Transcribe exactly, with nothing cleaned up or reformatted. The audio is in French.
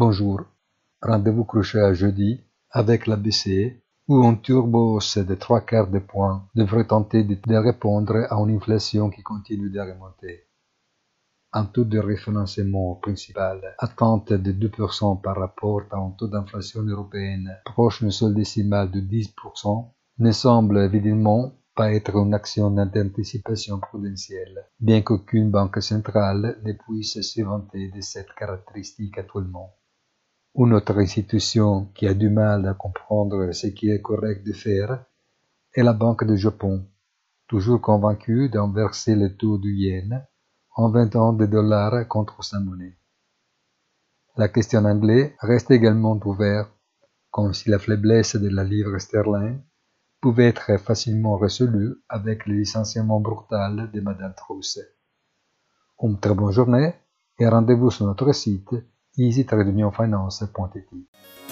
Bonjour, rendez-vous crochet à jeudi avec l'A B C où un turbo de trois quarts de point devrait tenter de, de répondre à une inflation qui continue de remonter. Un taux de référencement principal, attente de deux pour cent par rapport à un taux d'inflation européenne proche d'une seule décimale de dix pour cent, ne semble évidemment pas être une action d'anticipation prudentielle, bien qu'aucune banque centrale ne puisse se vanter de cette caractéristique actuellement. Une autre institution qui a du mal à comprendre ce qui est correct de faire est la Banque du Japon, toujours convaincue d'inverser le taux du yen en vendant des dollars contre sa monnaie. La question anglaise reste également ouverte, comme si la faiblesse de la livre sterling pouvait être facilement résolue avec le licenciement brutal de Madame Truss. Une très bonne journée et rendez-vous sur notre site easy tiret finance point it.